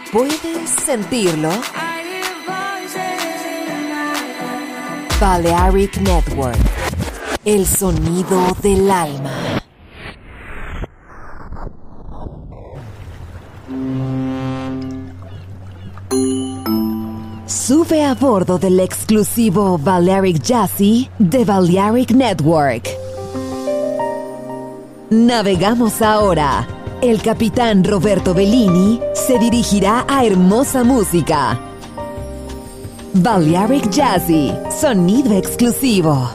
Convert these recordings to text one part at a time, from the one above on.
¿Puedes sentirlo? Balearic Network, el sonido del alma. Sube a bordo del exclusivo Balearic Jazzy de Balearic Network. Navegamos ahora. El capitán Roberto Bellini se dirigirá a hermosa música. Balearic Jazzy, sonido exclusivo.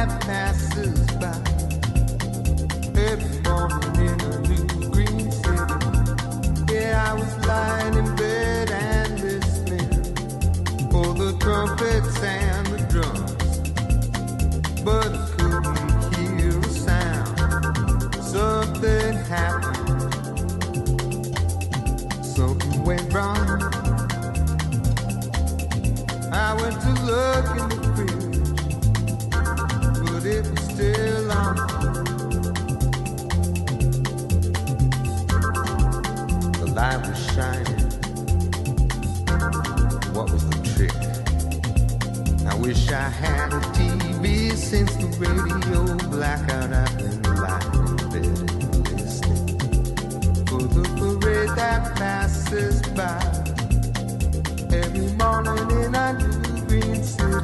that passes by. Every morning in a new green city. Yeah, I was lying in bed and listening for the trumpets and the drums, but I couldn't hear a sound. Something happened, something went wrong. I went to look in the fridge, but it was still on. The light was shining. What was the trick? I wish I had a TV since the radio blackout. I've been lying in bed and listening for the parade that passes by. Every morning in a new green city.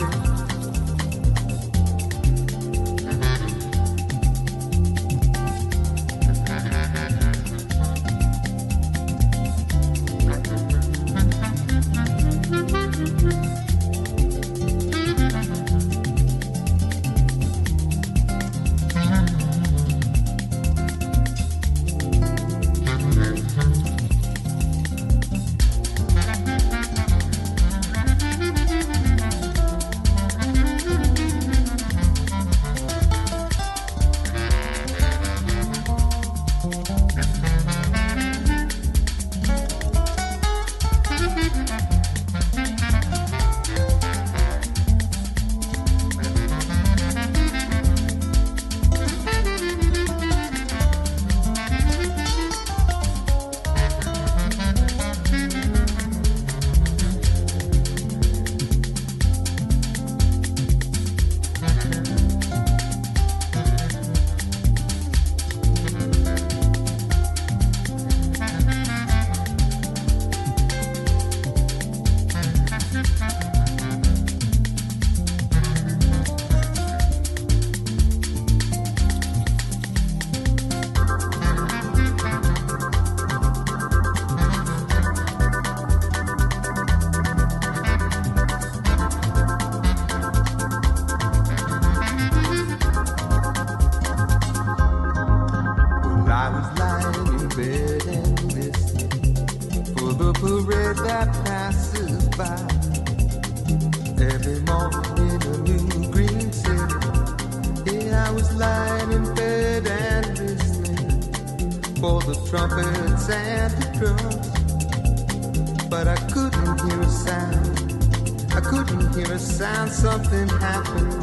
Something happened,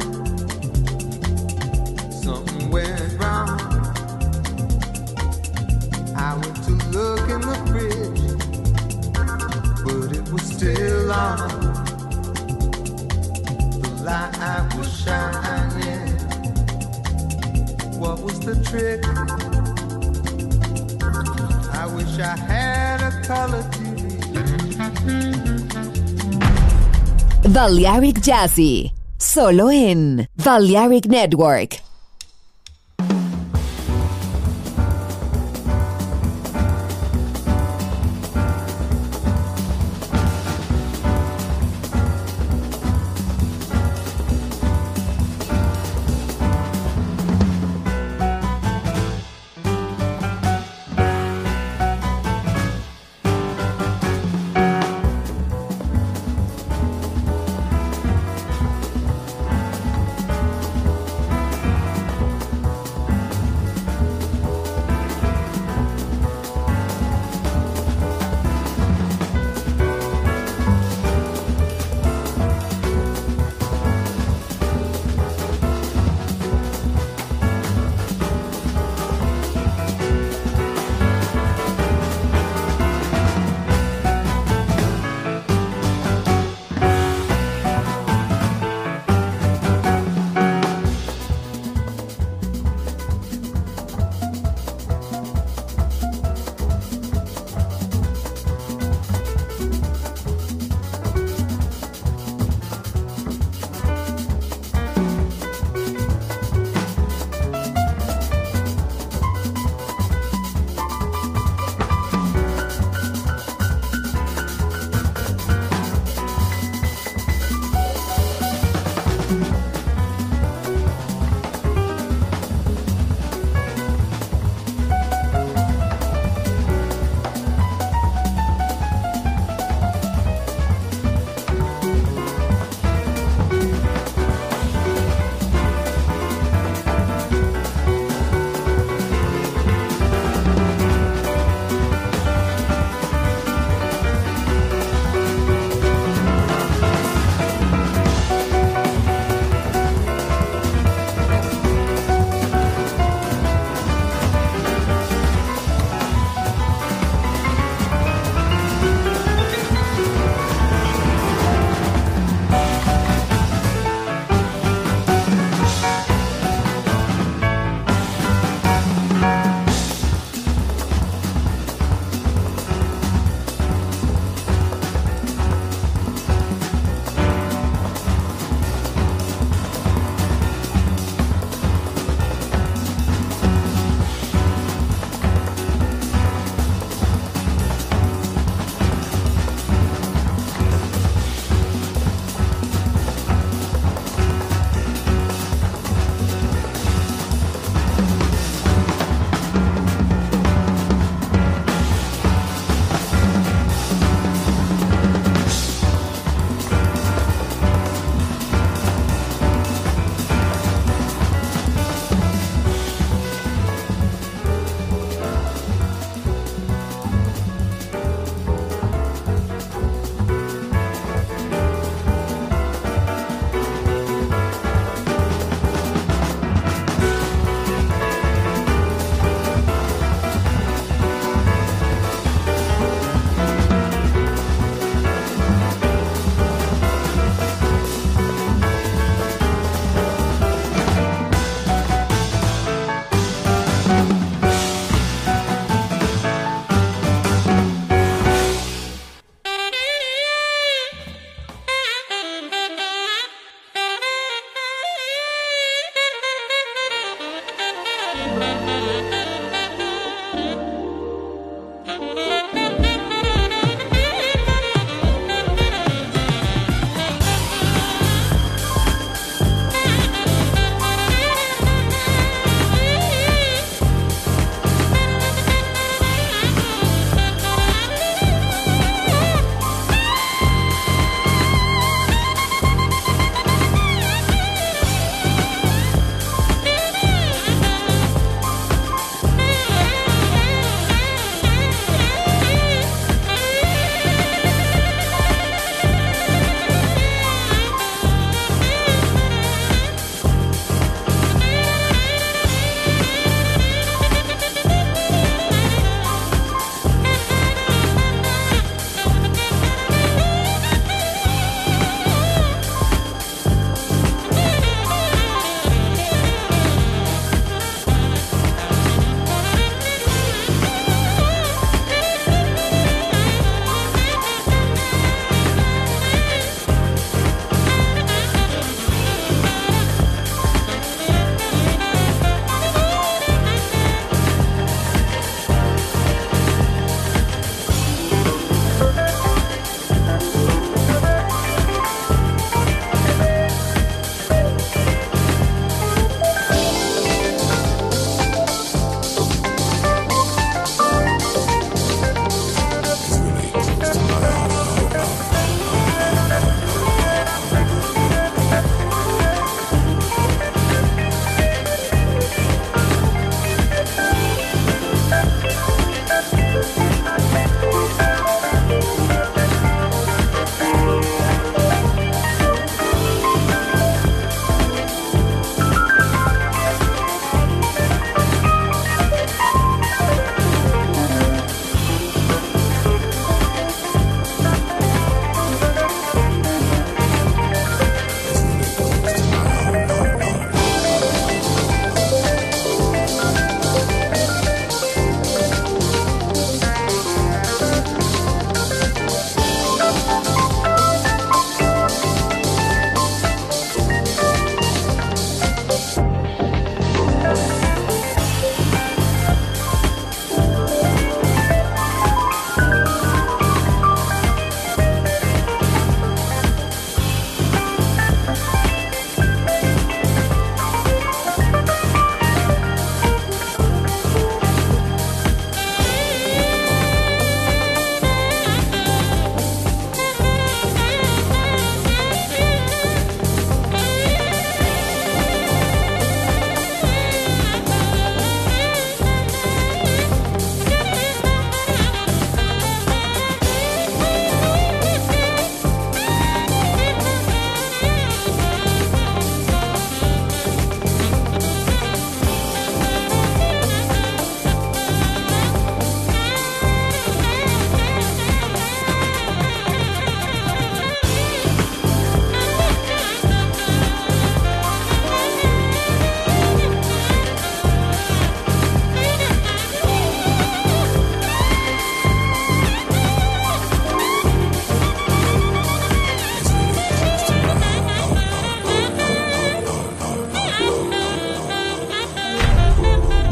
something went wrong. I went to look in the fridge, but it was still on. The light was shining. What was the trick? I wish I had a color TV. Balearic Jazzy, solo en Balearic Network.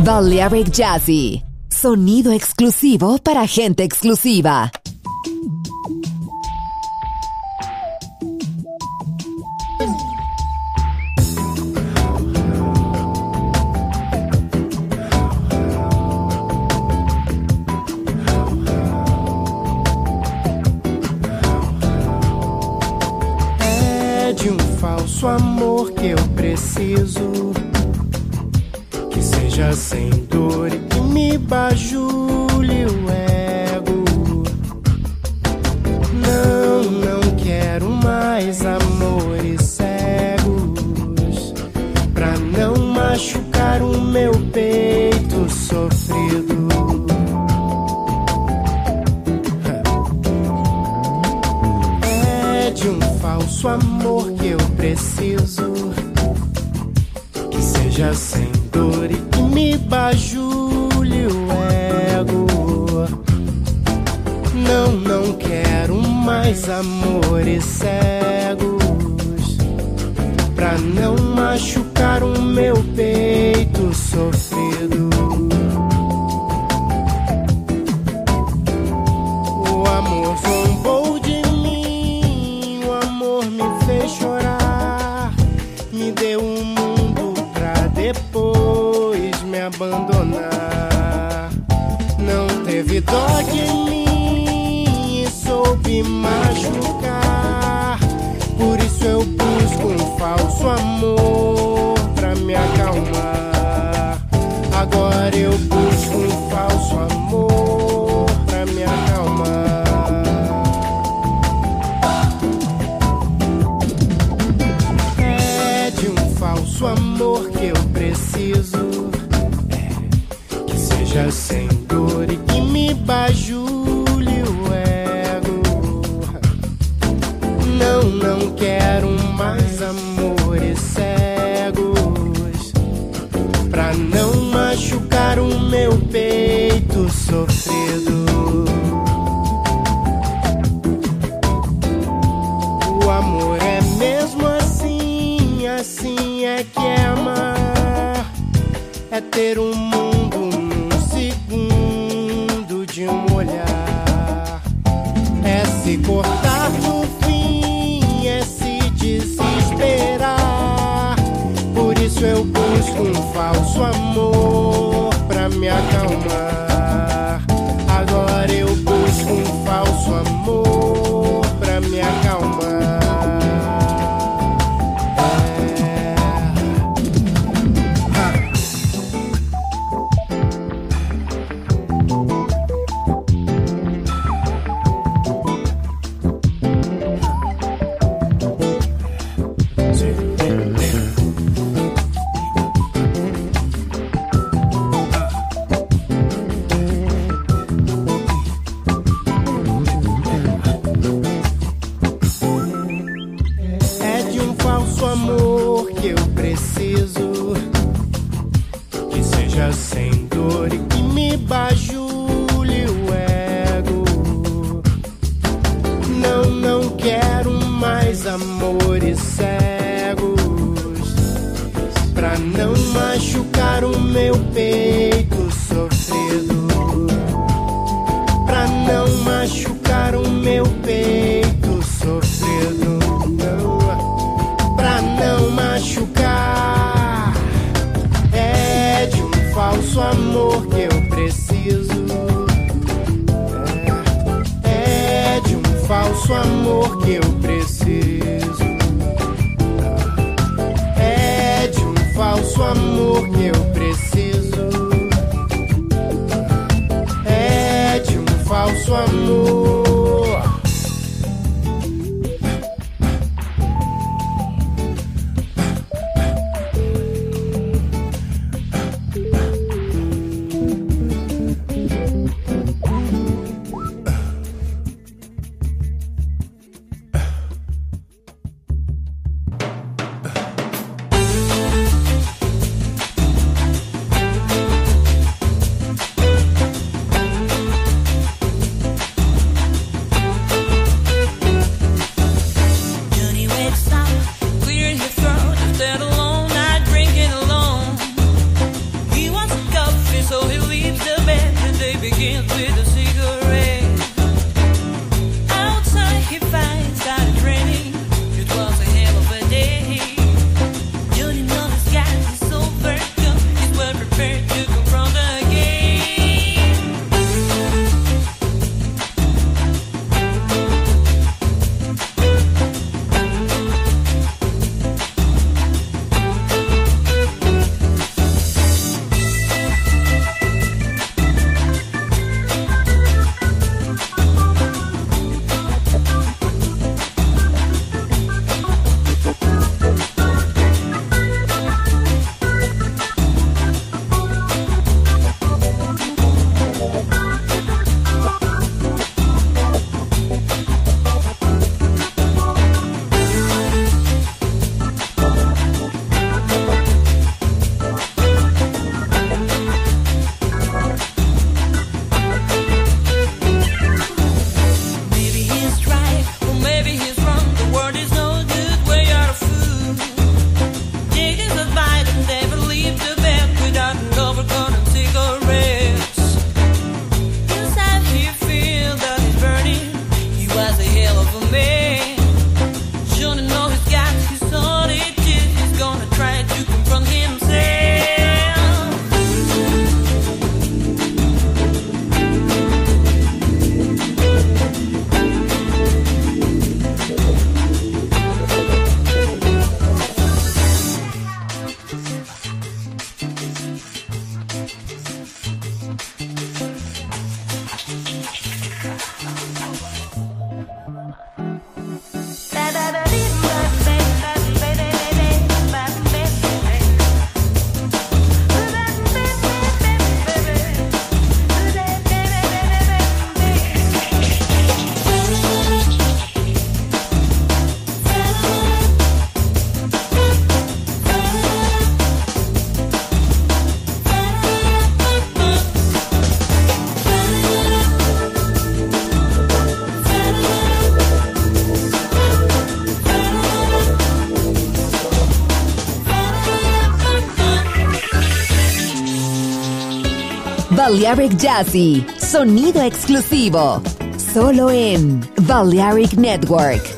Balearic Jazzy. Sonido exclusivo para gente exclusiva. É de um falso amor que eu preciso, que seja sem dor e que me bajule o ego. Não quero mais amores cegos, pra não machucar o meu peito sofrido. É de um falso amor que eu preciso, que seja sem dor e que me bajule o ego. Não quero mais amores cegos, pra não machucar o meu peito sofrido. O amor zombou de mim, o amor me fez chorar, me deu um mundo pra depois me abandonar. Não teve dó de mim e soube machucar, por isso eu busco um falso amor pra me acalmar. Agora eu busco um falso amor pra me acalmar. É de um falso amor que eu preciso, que seja sem dor e que me bajule o ego. Não quero mais amores cegos, pra não machucar o meu peito sofrido. O amor é mesmo assim, assim é que é amar, é ter um mundo num segundo de um olhar, é se cortar no fim, é se desesperar. Por isso eu busco um falso amor pra me acalmar. Agora eu busco um falso amor pra me acalmar. É de um falso amor que eu preciso, que seja sem dor e que me bajule o ego. Não quero mais amores cegos, pra não machucar o meu peito sofrido, pra não machucar o meu peito sofrido. Pra não machucar. É de um falso amor que eu preciso, é de um falso amor que eu preciso, é de um falso amor que eu preciso, é de um falso amor. Balearic Jazzy, sonido exclusivo, solo en Balearic Network.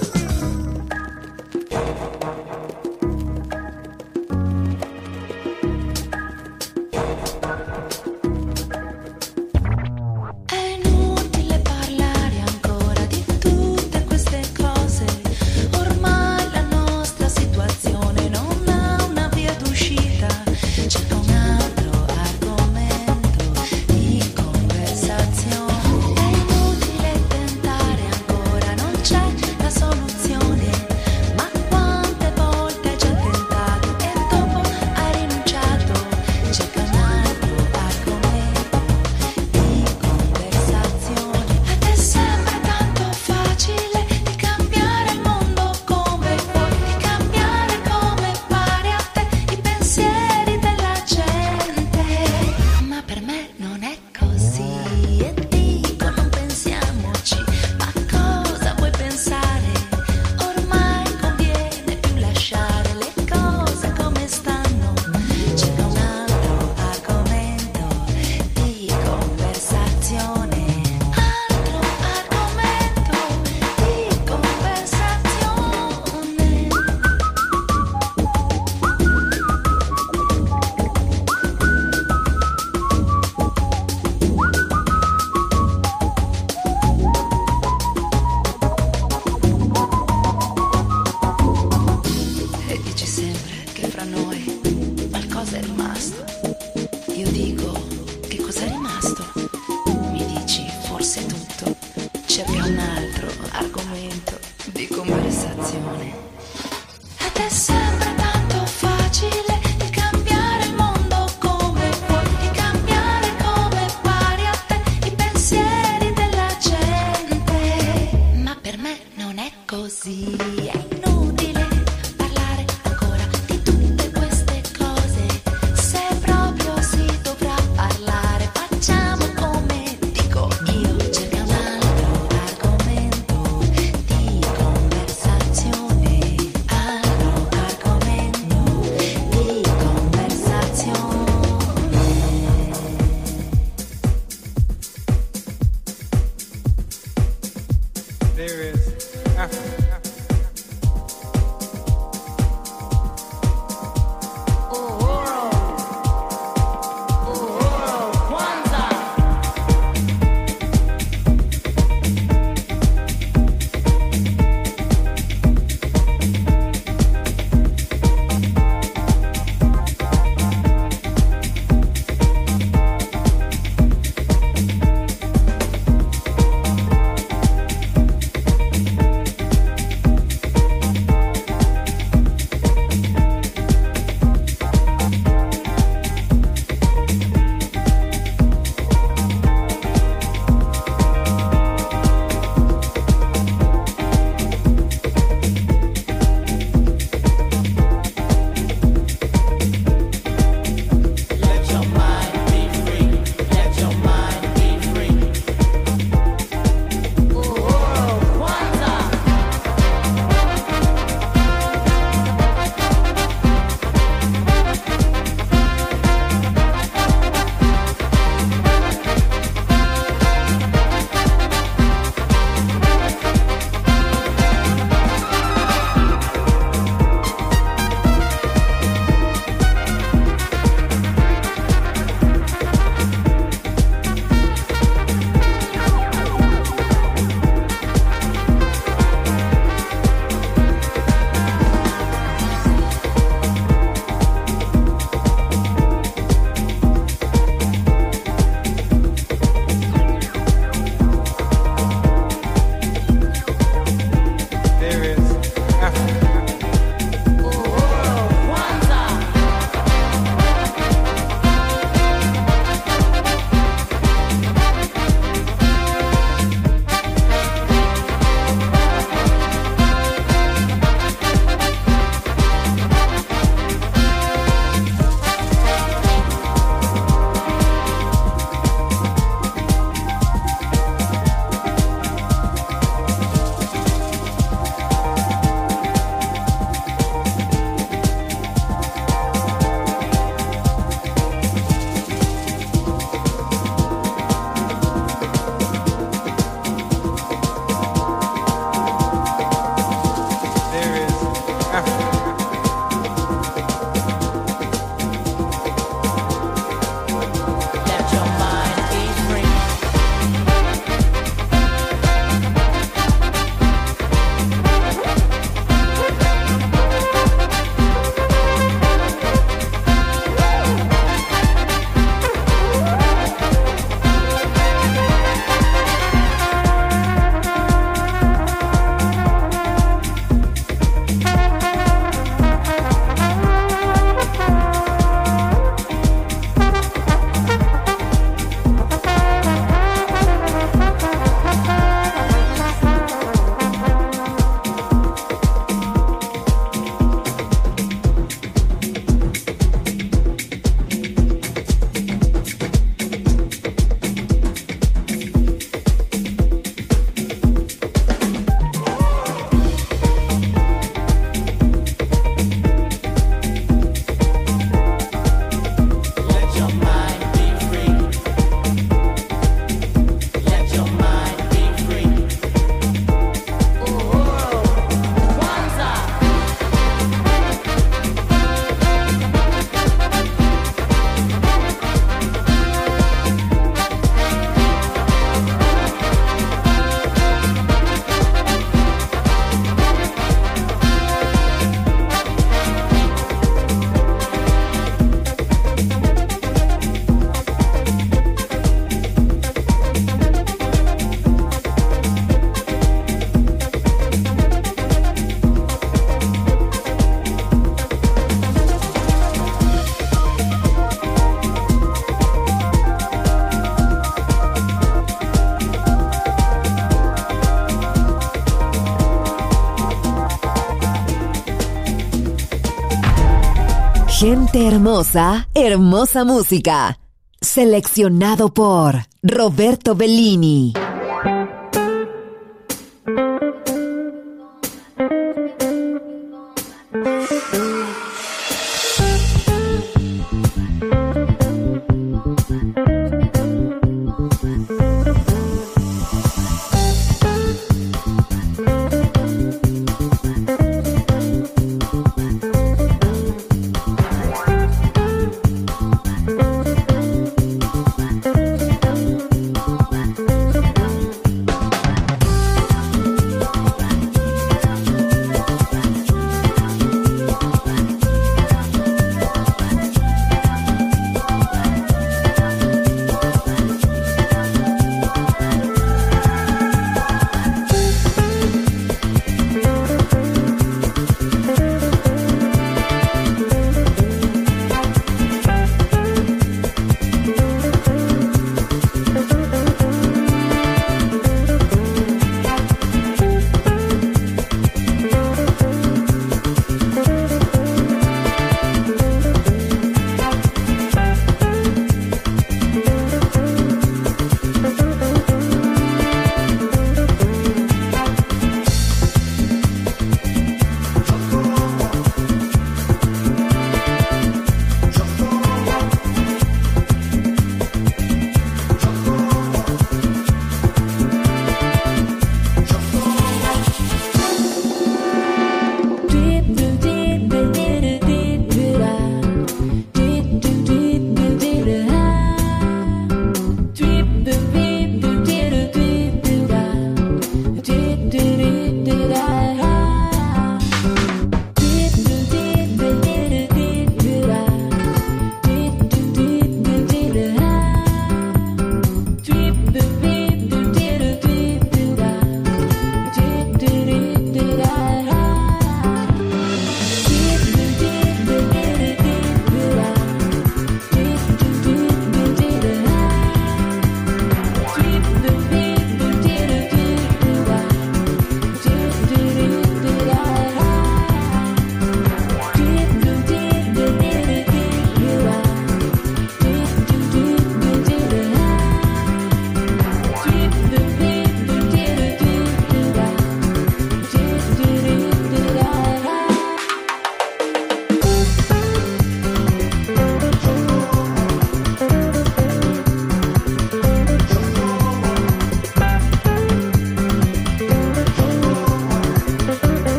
Gente hermosa, hermosa música. Seleccionado por Roberto Bellini.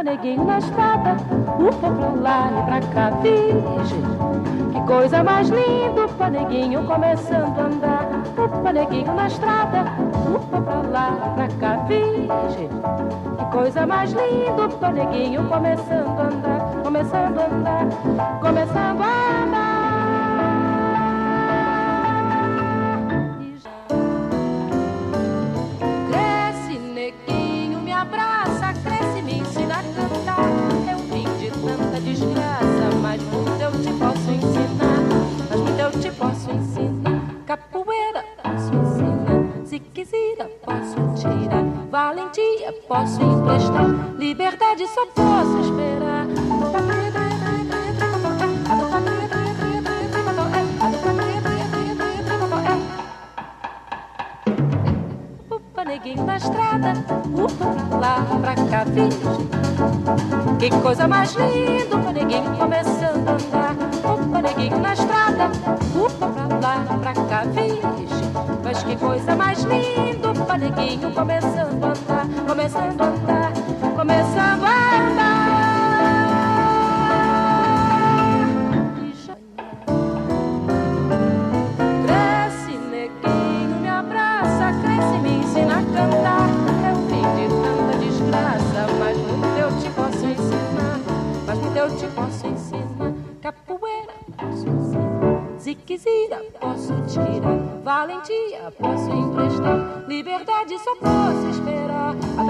neguinho na estrada, upa pra lá e pra cá, virgem. Que coisa mais linda, upa neguinho começando a andar. Upa neguinho na estrada, upa pra lá e pra cá, virgem. Que coisa mais linda, upa neguinho começando a andar, começando a andar, começando a andar. Cresce neguinho, me abraça, cresce, me ensina a cantar. Eu vim de tanta desgraça, mas muito eu te posso ensinar. Mas muito eu te posso ensinar. Capoeira posso ensinar, se quiser posso tirar. Valentia posso emprestar, liberdade só posso esperar. Upa neguinho na estrada, upa pra lá, pra cá, virgem. Que coisa mais linda, upa neguinho começando a andar. Upa neguinho na estrada, upa pra lá, pra cá, virgem. Mas que coisa mais linda, upa neguinho começando a andar, começando a andar, começando a andar. Cresce neguinho, me abraça, cresce, me ensina a cantar. Eu vim de tanta desgraça, mas muito eu te posso ensinar. Mas muito eu te posso ensinar. Capoeira posso ensinar, ziquezira posso tirar. Valentia posso emprestar, liberdade só posso esperar.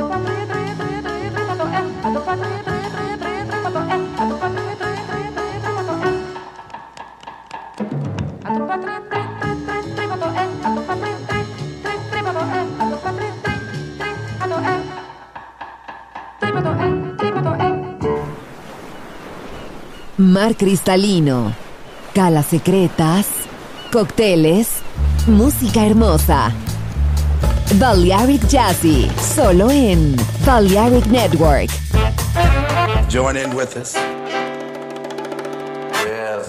Mar cristalino, calas secretas, cócteles, música hermosa. Balearic Jazzy, solo en Balearic Network. Join in with us. Yes.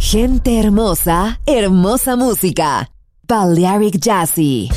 Gente hermosa, hermosa música. Balearic Jazzy.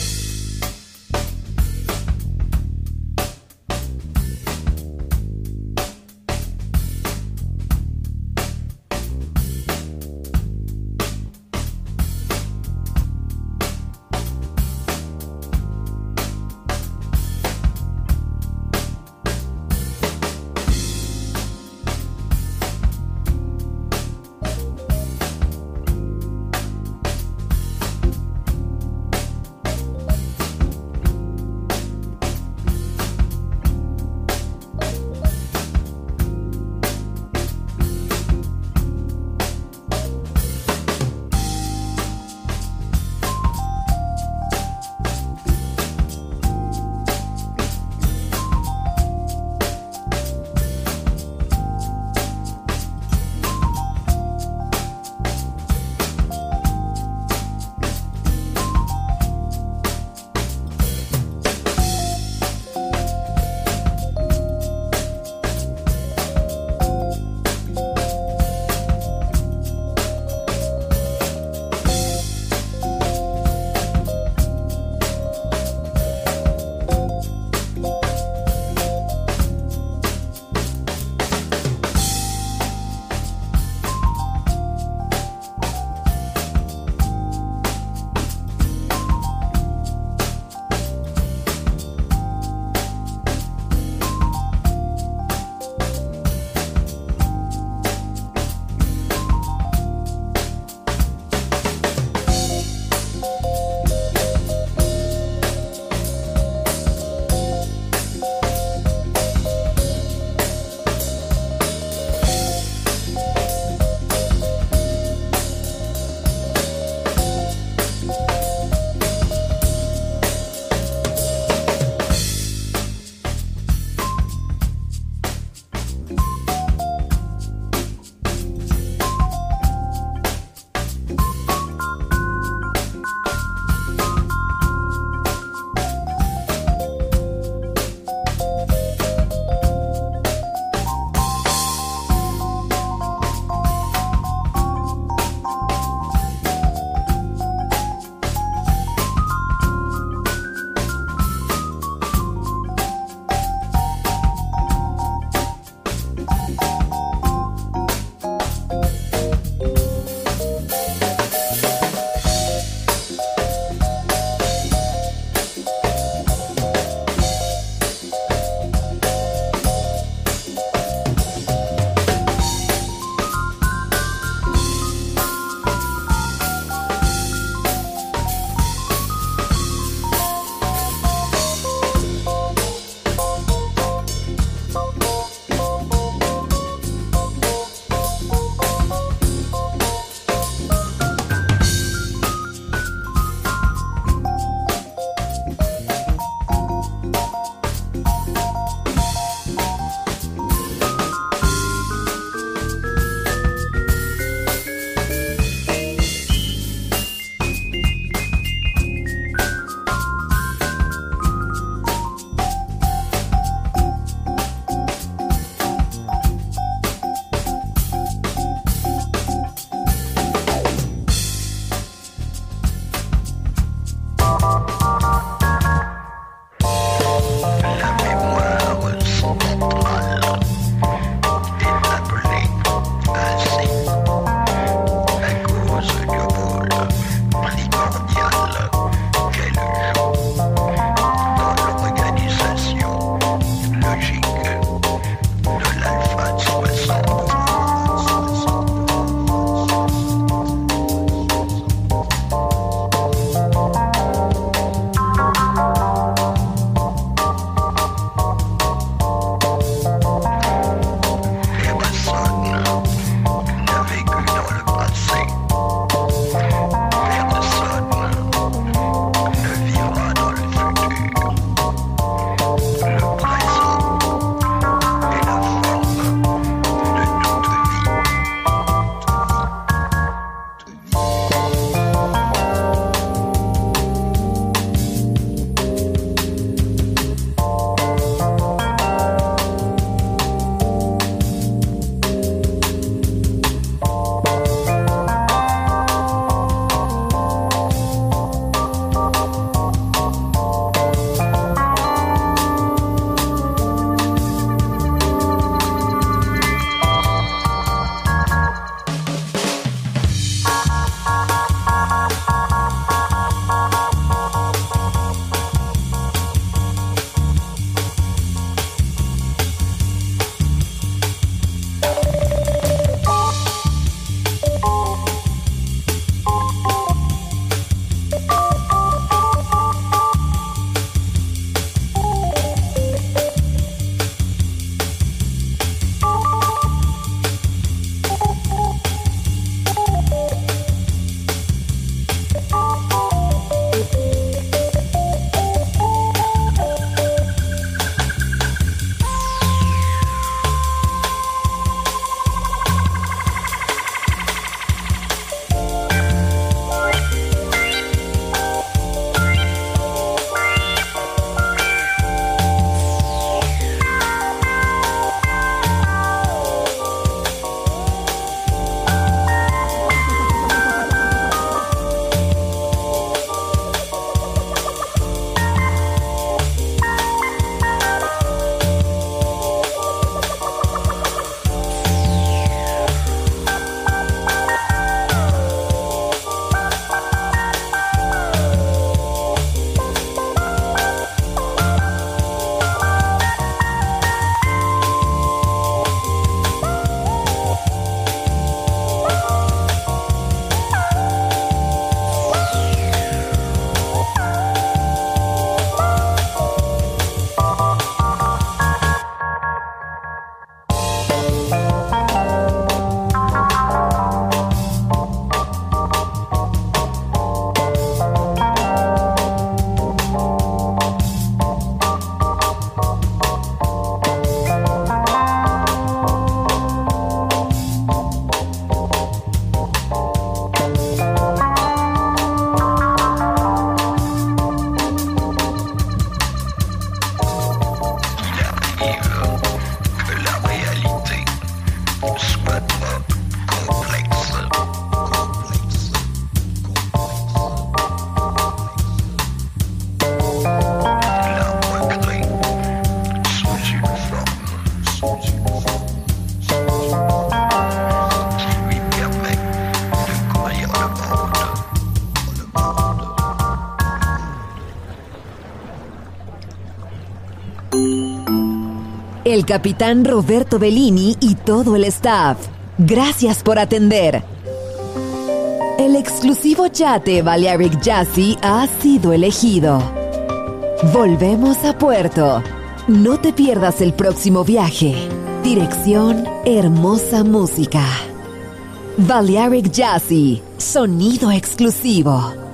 el capitán Roberto Bellini y todo el staff. Gracias por atender. El exclusivo yate Balearic Jazzy ha sido elegido. Volvemos a puerto. No te pierdas el próximo viaje. Dirección Hermosa Música. Balearic Jazzy, sonido exclusivo.